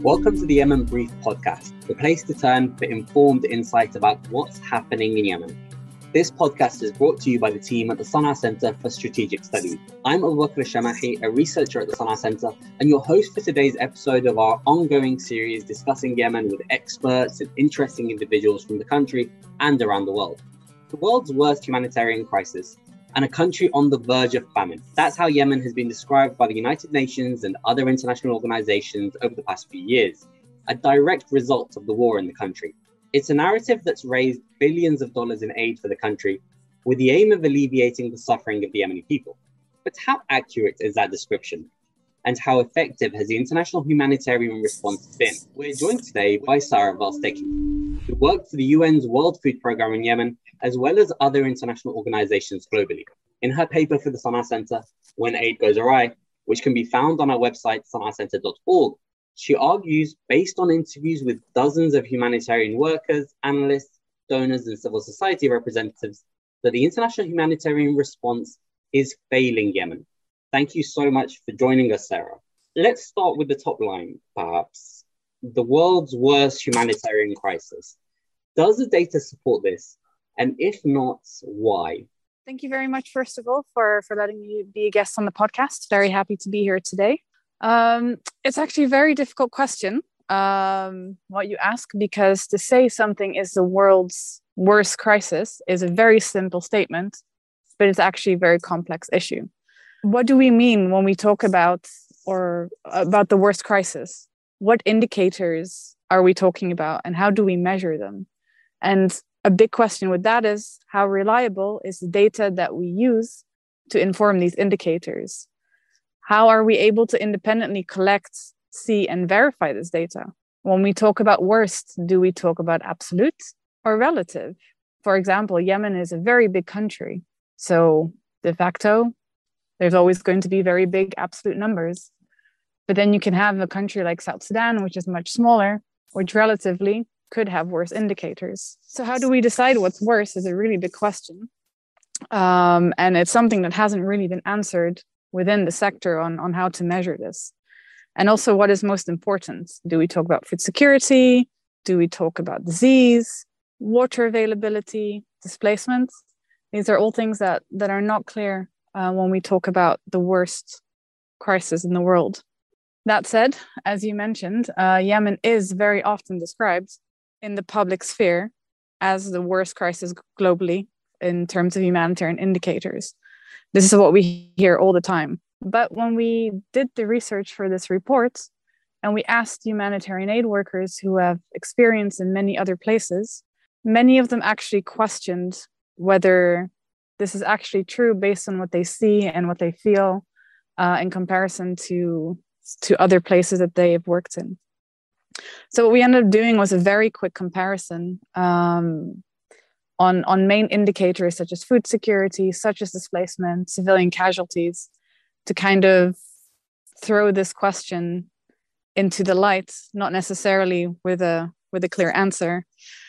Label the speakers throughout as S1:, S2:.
S1: Welcome to the Yemen Brief podcast, the place to turn for informed insight about what's happening in Yemen. This podcast is brought to you by the team at the Sana'a Center for Strategic Studies. I'm Abu Bakr Shamahi, a researcher at the Sana'a Center, and your host for today's episode of our ongoing series discussing Yemen with experts and interesting individuals from the country and around the world. The world's worst humanitarian crisis, and a country on the verge of famine. That's how Yemen has been described by the United Nations and other international organizations over the past few years, a direct result of the war in the country. It's a narrative that's raised billions of dollars in aid for the country with the aim of alleviating the suffering of the Yemeni people. But how accurate is that description? And how effective has the international humanitarian response been? We're joined today by Sarah Valstecki, who worked for the UN's World Food Programme in Yemen, as well as other international organizations globally. In her paper for the Sana'a Center, When Aid Goes Awry, which can be found on our website, sana'acenter.org, she argues, based on interviews with dozens of humanitarian workers, analysts, donors, and civil society representatives, that the international humanitarian response is failing Yemen. Thank you so much for joining us, Sarah. Let's start with the top line, perhaps. The world's worst humanitarian crisis. Does the data support this? And if not, why?
S2: Thank you very much, first of all, for letting me be a guest on the podcast. Very happy to be here today. It's actually a very difficult question, what you ask, because to say something is the world's worst crisis is a very simple statement, but it's actually a very complex issue. What do we mean when we talk about the worst crisis? What indicators are we talking about, and how do we measure them? And a big question with that is, how reliable is the data that we use to inform these indicators? How are we able to independently collect, see, and verify this data? When we talk about worst, do we talk about absolute or relative? For example, Yemen is a very big country. So de facto, there's always going to be very big absolute numbers. But then you can have a country like South Sudan, which is much smaller, which relatively could have worse indicators. So how do we decide what's worse is a really big question. And it's something that hasn't really been answered within the sector on how to measure this. And also, what is most important? Do we talk about food security? Do we talk about disease, water availability, displacement? These are all things that are not clear when we talk about the worst crisis in the world. That said, as you mentioned, Yemen is very often described in the public sphere as the worst crisis globally in terms of humanitarian indicators. This is what we hear all the time. But when we did the research for this report and we asked humanitarian aid workers who have experience in many other places, many of them actually questioned whether this is actually true based on what they see and what they feel in comparison to other places that they have worked in. So what we ended up doing was a very quick comparison on main indicators such as food security, such as displacement, civilian casualties, to kind of throw this question into the light, not necessarily with a clear answer.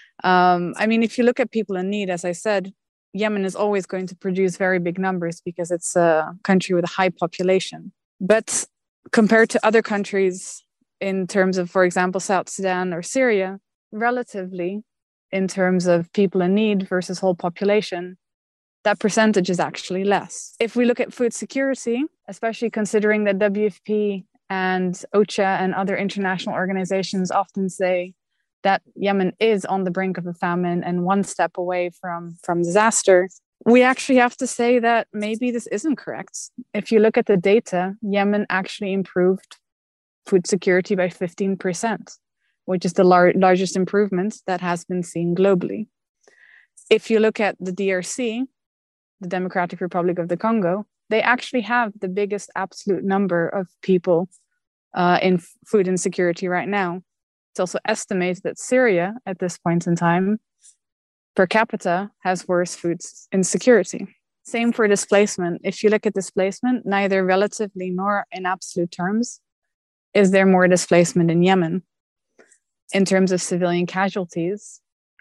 S2: If you look at people in need, as I said, Yemen is always going to produce very big numbers because it's a country with a high population. But compared to other countries, in terms of, for example, South Sudan or Syria, relatively, in terms of people in need versus whole population, that percentage is actually less. If we look at food security, especially considering that WFP and OCHA and other international organizations often say that Yemen is on the brink of a famine and one step away from disaster, we actually have to say that maybe this isn't correct. If you look at the data, Yemen actually improved food security by 15%, which is the largest improvement that has been seen globally. If you look at the DRC, the Democratic Republic of the Congo, they actually have the biggest absolute number of people in food insecurity right now. It's also estimated that Syria, at this point in time, per capita, has worse food insecurity. Same for displacement. If you look at displacement, neither relatively nor in absolute terms is there more displacement in Yemen. In terms of civilian casualties,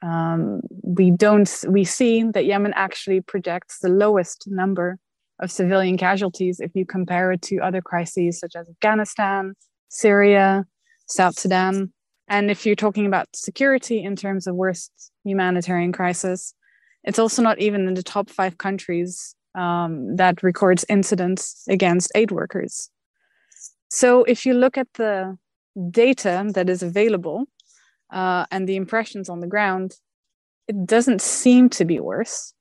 S2: we see that Yemen actually projects the lowest number of civilian casualties if you compare it to other crises such as Afghanistan, Syria, South Sudan. And if you're talking about security in terms of worst humanitarian crisis, it's also not even in the top 5 countries that records incidents against aid workers. So if you look at the data that is available and the impressions on the ground, it doesn't seem to be worse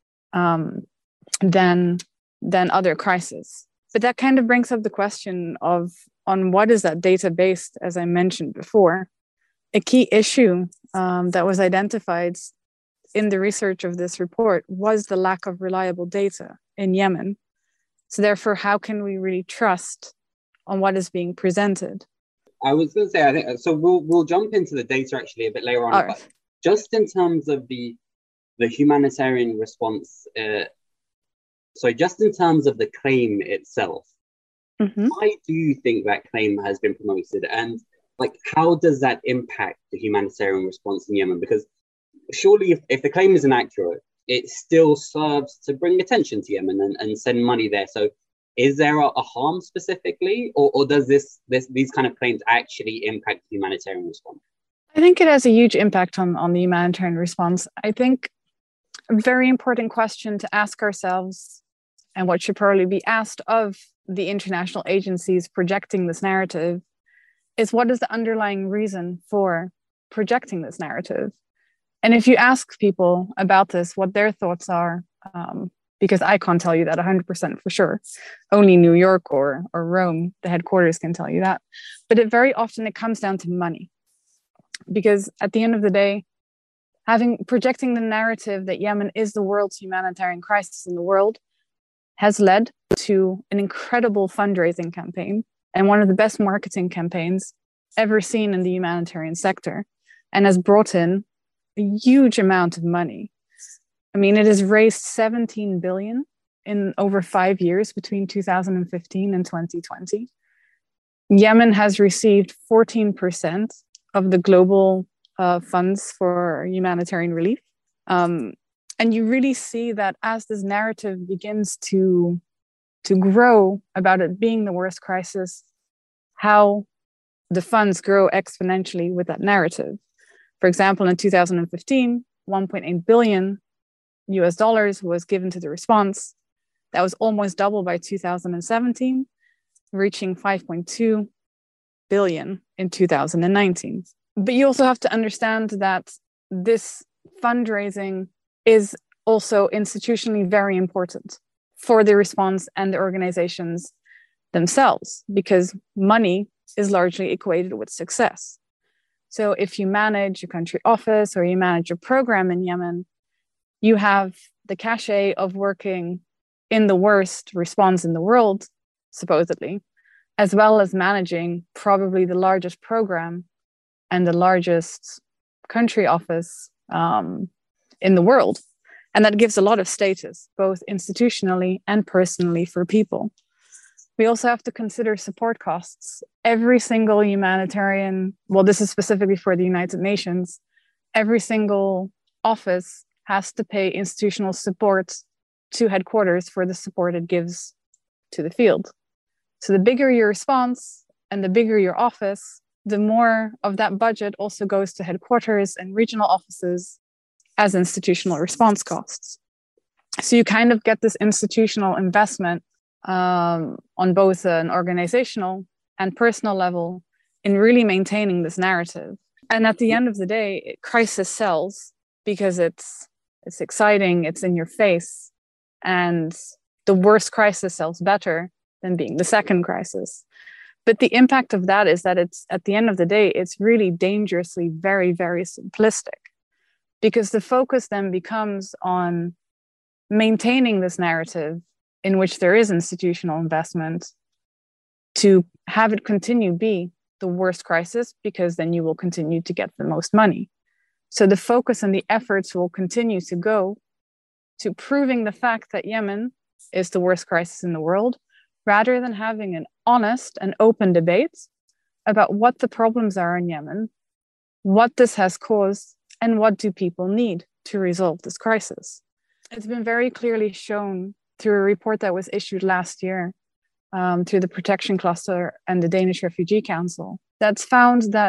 S2: than other crises. But that kind of brings up the question of on what is that data based, as I mentioned before. A key issue that was identified in the research of this report was the lack of reliable data in Yemen. So therefore, how can we really trust on what is being presented?
S1: I was going to say, I think so. We'll jump into the data actually a bit later on. But just in terms of the humanitarian response, just in terms of the claim itself, why do you think that claim has been promoted, and how does that impact the humanitarian response in Yemen? Because surely, if the claim is inaccurate, it still serves to bring attention to Yemen and send money there. So is there a harm specifically, or does these kind of claims actually impact the humanitarian response?
S2: I think it has a huge impact on the humanitarian response. I think a very important question to ask ourselves, and what should probably be asked of the international agencies projecting this narrative, is what is the underlying reason for projecting this narrative? And if you ask people about this, what their thoughts are, because I can't tell you that 100% for sure. Only New York or Rome, the headquarters, can tell you that. But very often it comes down to money. Because at the end of the day, projecting the narrative that Yemen is the world's humanitarian crisis in the world has led to an incredible fundraising campaign and one of the best marketing campaigns ever seen in the humanitarian sector, and has brought in a huge amount of money. I mean, it has raised 17 billion in over 5 years between 2015 and 2020. Yemen has received 14% of the global funds for humanitarian relief. And you really see that as this narrative begins to grow about it being the worst crisis, how the funds grow exponentially with that narrative. For example, in 2015, $1.8 billion was given to the response. That was almost double by 2017, reaching 5.2 billion in 2019. But you also have to understand that this fundraising is also institutionally very important for the response and the organizations themselves, because money is largely equated with success. So if you manage a country office or you manage a program in Yemen, you have the cachet of working in the worst response in the world, supposedly, as well as managing probably the largest program and the largest country office in the world. And that gives a lot of status, both institutionally and personally for people. We also have to consider support costs. Every single humanitarian, well, this is specifically for the United Nations, every single office has to pay institutional support to headquarters for the support it gives to the field. So the bigger your response and the bigger your office, the more of that budget also goes to headquarters and regional offices as institutional response costs. So you kind of get this institutional investment on both an organizational and personal level in really maintaining this narrative. And at the end of the day, crisis sells because it's exciting, it's in your face, and the worst crisis sells better than being the second crisis. But the impact of that is that it's, at the end of the day, it's really dangerously very, very simplistic, because the focus then becomes on maintaining this narrative in which there is institutional investment to have it continue be the worst crisis, because then you will continue to get the most money. So the focus and the efforts will continue to go to proving the fact that Yemen is the worst crisis in the world, rather than having an honest and open debate about what the problems are in Yemen, what this has caused, and what do people need to resolve this crisis. It's been very clearly shown through a report that was issued last year through the Protection Cluster and the Danish Refugee Council, that's found that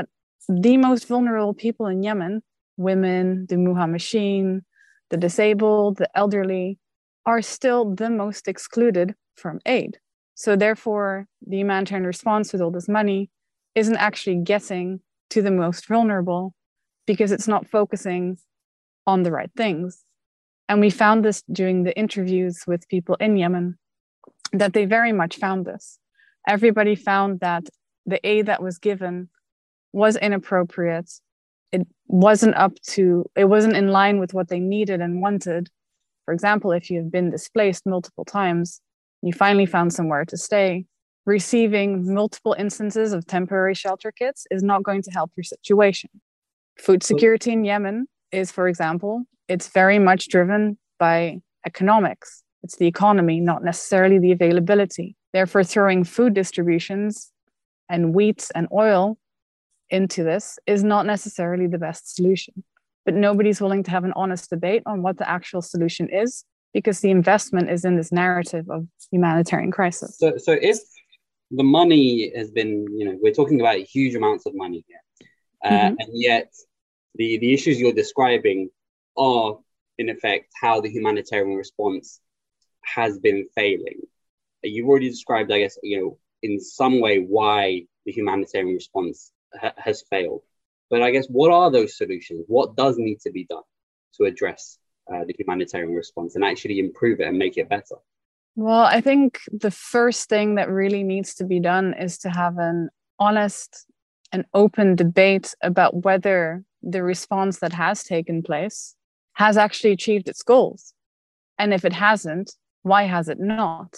S2: the most vulnerable people in Yemen, women, the Muhammadin, the disabled, the elderly, are still the most excluded from aid. So therefore, the humanitarian response with all this money isn't actually getting to the most vulnerable because it's not focusing on the right things. And we found this during the interviews with people in Yemen, that they very much found this. Everybody found that the aid that was given was inappropriate. It wasn't in line with what they needed and wanted. For example, if you've been displaced multiple times, you finally found somewhere to stay, receiving multiple instances of temporary shelter kits is not going to help your situation. Food security in Yemen is, for example, it's very much driven by economics. It's the economy, not necessarily the availability. Therefore, throwing food distributions and wheat and oil into this is not necessarily the best solution. But nobody's willing to have an honest debate on what the actual solution is, because the investment is in this narrative of humanitarian crisis.
S1: So if the money has been, we're talking about huge amounts of money here, and yet the issues you're describing are, in effect, how the humanitarian response has been failing. You've already described, I guess, in some way why the humanitarian response has failed. But I guess, what are those solutions? What does need to be done to address the humanitarian response and actually improve it and make it better?
S2: Well, I think the first thing that really needs to be done is to have an honest and open debate about whether the response that has taken place has actually achieved its goals. And if it hasn't, why has it not?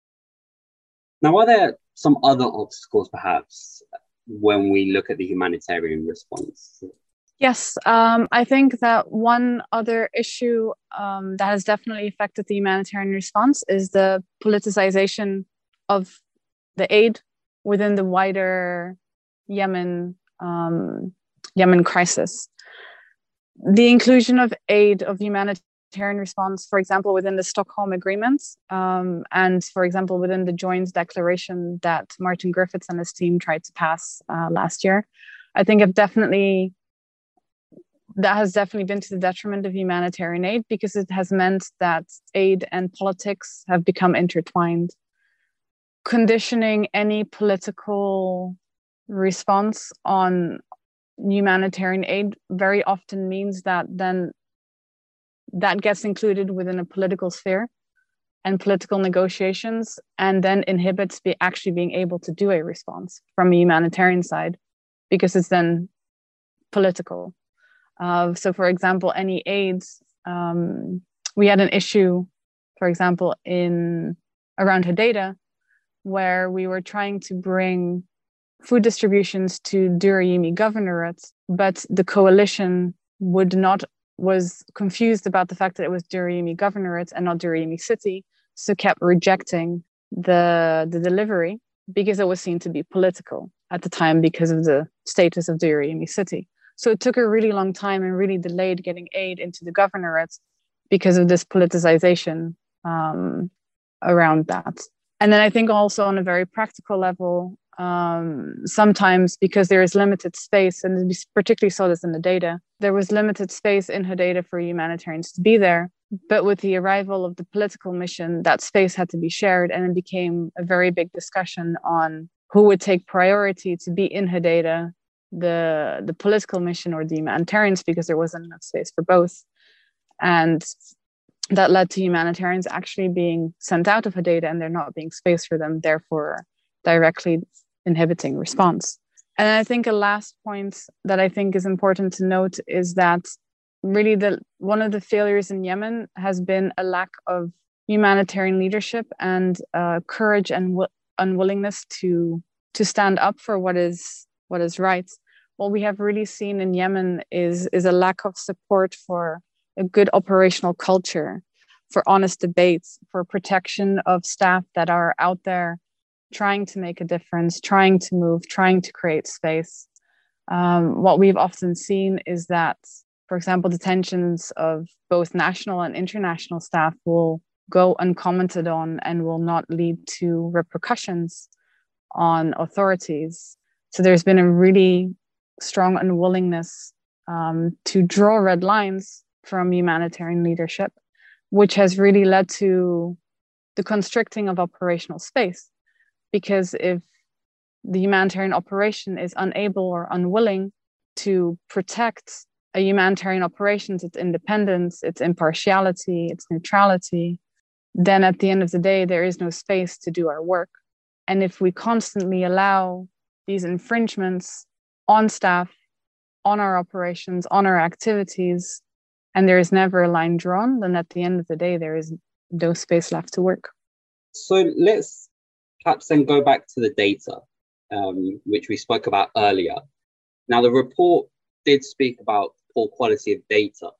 S1: Now, are there some other obstacles, perhaps, when we look at the humanitarian response?
S2: Yes, I think that one other issue that has definitely affected the humanitarian response is the politicization of the aid within the wider Yemen crisis. The inclusion of aid of humanitarian response, for example, within the Stockholm Agreement, and for example, within the joint declaration that Martin Griffiths and his team tried to pass last year, I think that has definitely been to the detriment of humanitarian aid, because it has meant that aid and politics have become intertwined. Conditioning any political response on humanitarian aid very often means that then that gets included within a political sphere and political negotiations, and then inhibits actually being able to do a response from a humanitarian side, because it's then political. So, for example, any aids, we had an issue, for example, around Hodeidah, where we were trying to bring food distributions to Durrani Governorate, but the coalition was confused about the fact that it was Durrani Governorate and not Durrani City, so kept rejecting the delivery because it was seen to be political at the time because of the status of Durrani City. So it took a really long time and really delayed getting aid into the governorate because of this politicization around that. And then I think also on a very practical level, sometimes because there is limited space, and we particularly saw this in the data, there was limited space in Hodeidah for humanitarians to be there. But with the arrival of the political mission, that space had to be shared, and it became a very big discussion on who would take priority to be in Hodeidah, the political mission or the humanitarians, because there wasn't enough space for both. And that led to humanitarians actually being sent out of Hodeidah and there not being space for them, therefore directly inhibiting response. And I think a last point that I think is important to note is that really one of the failures in Yemen has been a lack of humanitarian leadership and courage and unwillingness to stand up for what is right. What we have really seen in Yemen is a lack of support for a good operational culture, for honest debates, for protection of staff that are out there trying to make a difference, trying to move, trying to create space. What we've often seen is that, for example, detentions of both national and international staff will go uncommented on and will not lead to repercussions on authorities. So there's been a really strong unwillingness to draw red lines from humanitarian leadership, which has really led to the constricting of operational space. Because if the humanitarian operation is unable or unwilling to protect a humanitarian operations, its independence, its impartiality, its neutrality, then at the end of the day, there is no space to do our work. And if we constantly allow these infringements on staff, on our operations, on our activities, and there is never a line drawn, then at the end of the day, there is no space left to work.
S1: So let's perhaps then go back to the data, which we spoke about earlier. Now, the report did speak about poor quality of data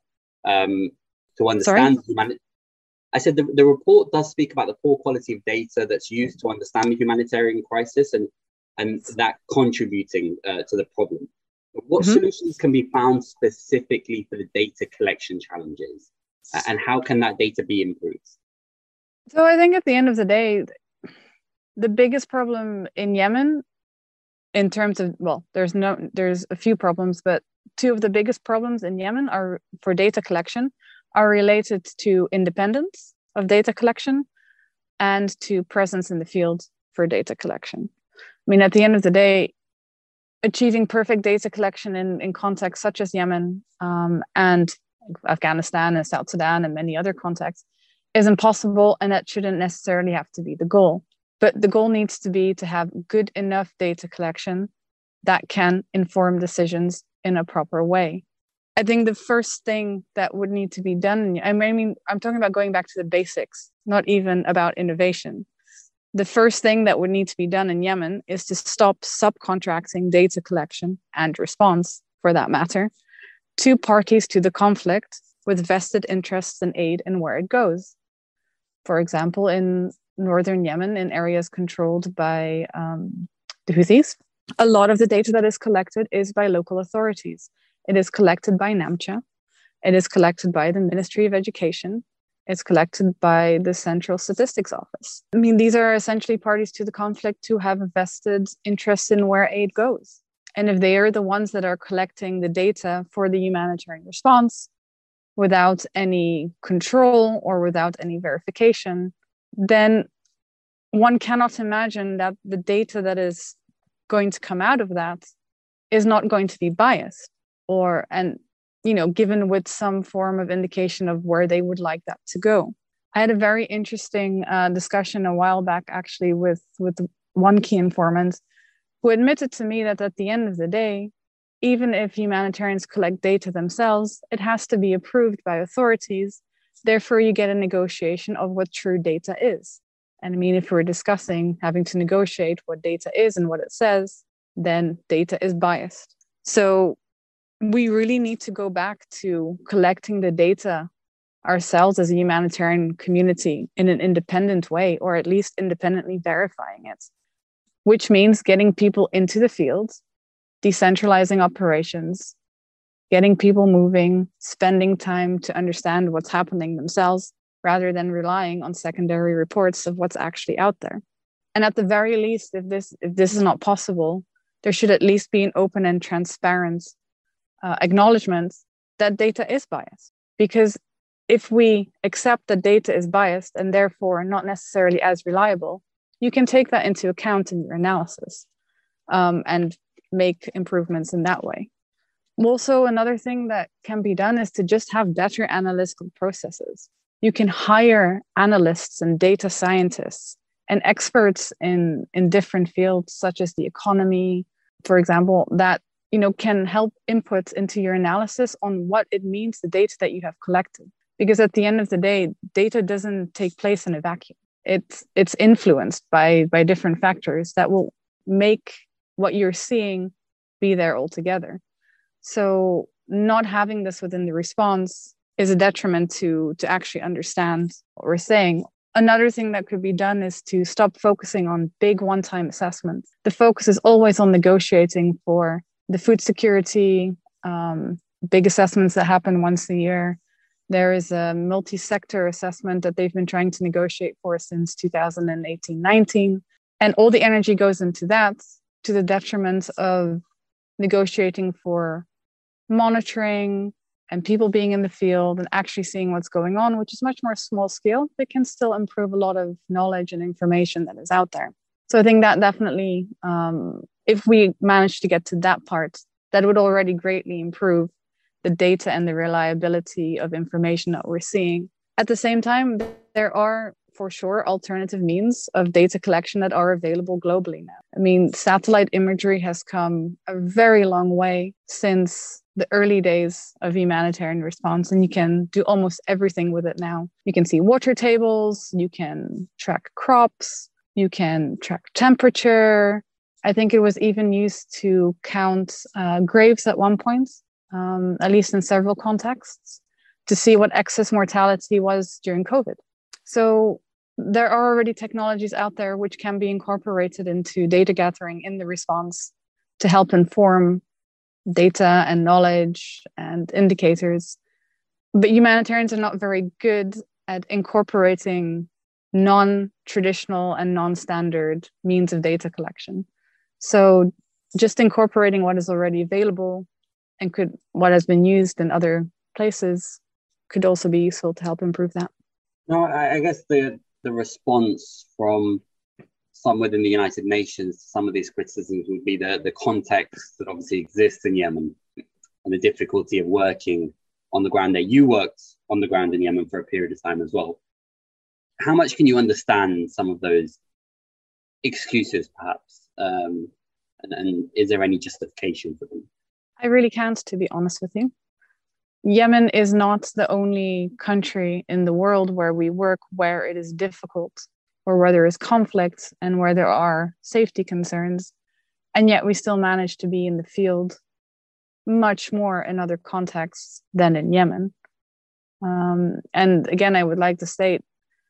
S1: to understand humanity. I said the report does speak about the poor quality of data that's used to understand the humanitarian crisis and that contributing to the problem. What solutions can be found specifically for the data collection challenges, and how can that data be improved?
S2: So I think at the end of the day, the biggest problem in Yemen, in terms of, well, there's a few problems, but two of the biggest problems in Yemen are for data collection are related to independence of data collection and to presence in the field for data collection. I mean, at the end of the day, achieving perfect data collection in contexts such as Yemen and Afghanistan and South Sudan and many other contexts is impossible, and that shouldn't necessarily have to be the goal. But the goal needs to be to have good enough data collection that can inform decisions in a proper way. I think the first thing that would need to be done, I mean, I'm talking about going back to the basics, not even about innovation. The first thing that would need to be done in Yemen is to stop subcontracting data collection and response, for that matter, to parties to the conflict with vested interests in aid and where it goes. For example, in northern Yemen, in areas controlled by the Houthis, a lot of the data that is collected is by local authorities. It is collected by NAMCHA. It is collected by the Ministry of Education. It's collected by the Central Statistics Office. I mean, these are essentially parties to the conflict who have a vested interest in where aid goes. And if they are the ones that are collecting the data for the humanitarian response without any control or without any verification, then one cannot imagine that the data that is going to come out of that is not going to be biased given with some form of indication of where they would like that to go. I had a very interesting discussion a while back, actually, with one key informant who admitted to me that at the end of the day, even if humanitarians collect data themselves, it has to be approved by authorities. Therefore, you get a negotiation of what true data is. And I mean, if we're discussing having to negotiate what data is and what it says, then data is biased. So we really need to go back to collecting the data ourselves as a humanitarian community in an independent way, or at least independently verifying it, which means getting people into the field, decentralizing operations, getting people moving, spending time to understand what's happening themselves, rather than relying on secondary reports of what's actually out there. And at the very least, if this is not possible, there should at least be an open and transparent acknowledgement that data is biased. Because if we accept that data is biased and therefore not necessarily as reliable, you can take that into account in your analysis and make improvements in that way. Also, another thing that can be done is to just have better analytical processes. You can hire analysts and data scientists and experts in different fields, such as the economy, for example, that can help input into your analysis on what it means, the data that you have collected. Because at the end of the day, data doesn't take place in a vacuum. It's influenced by different factors that will make what you're seeing be there altogether. So not having this within the response is a detriment to actually understand what we're saying. Another thing that could be done is to stop focusing on big one-time assessments. The focus is always on negotiating for the food security, big assessments that happen once a year. There is a multi-sector assessment that they've been trying to negotiate for since 2018-19. And all the energy goes into that to the detriment of negotiating for monitoring and people being in the field and actually seeing what's going on, which is much more small scale, but can still improve a lot of knowledge and information that is out there. So I think that definitely, if we manage to get to that part, that would already greatly improve the data and the reliability of information that we're seeing. At the same time, there are for sure alternative means of data collection that are available globally now. I mean, satellite imagery has come a very long way since the early days of humanitarian response, and you can do almost everything with it now. You can see water tables, you can track crops, you can track temperature. I think it was even used to count graves at one point, at least in several contexts, to see what excess mortality was during COVID. So there are already technologies out there which can be incorporated into data gathering in the response to help inform data and knowledge and indicators. But humanitarians are not very good at incorporating non-traditional and non-standard means of data collection. So just incorporating what is already available and what has been used in other places could also be useful to help improve that.
S1: No, I guess the response from some within the United Nations to some of these criticisms would be the context that obviously exists in Yemen and the difficulty of working on the ground there. You worked on the ground in Yemen for a period of time as well. How much can you understand some of those excuses, perhaps? And is there any justification for them?
S2: I really can't, to be honest with you. Yemen is not the only country in the world where we work where it is difficult or where there is conflict and where there are safety concerns. And yet we still manage to be in the field much more in other contexts than in Yemen. And again, I would like to state,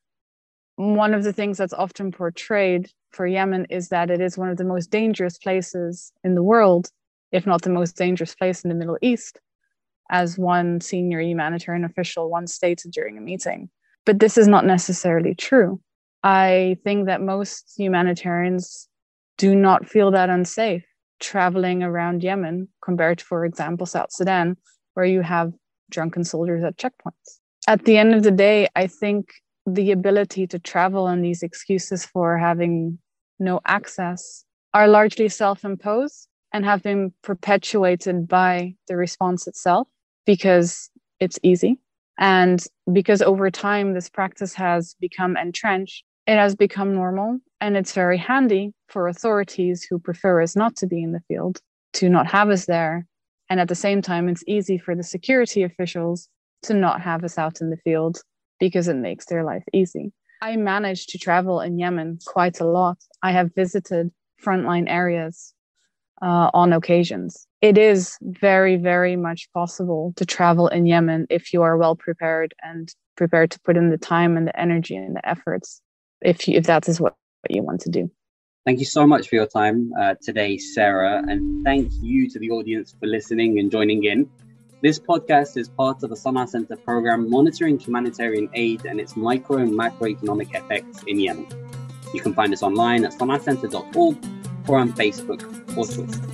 S2: one of the things that's often portrayed for Yemen is that it is one of the most dangerous places in the world, if not the most dangerous place in the Middle East, as one senior humanitarian official once stated during a meeting. But this is not necessarily true. I think that most humanitarians do not feel that unsafe traveling around Yemen compared to, for example, South Sudan, where you have drunken soldiers at checkpoints. At the end of the day, I think the ability to travel and these excuses for having no access are largely self-imposed and have been perpetuated by the response itself because it's easy. And because over time, this practice has become entrenched, it has become normal, and it's very handy for authorities who prefer us not to be in the field to not have us there. And at the same time, it's easy for the security officials to not have us out in the field because it makes their life easy. I managed to travel in Yemen quite a lot. I have visited frontline areas on occasions. It is very, very much possible to travel in Yemen if you are well prepared and prepared to put in the time and the energy and the efforts, if that is what you want to do.
S1: Thank you so much for your time today, Sarah, and thank you to the audience for listening and joining in. This podcast is part of the Sana'a Center program monitoring humanitarian aid and its micro and macroeconomic effects in Yemen. You can find us online at sana'acenter.org or on Facebook or Twitter.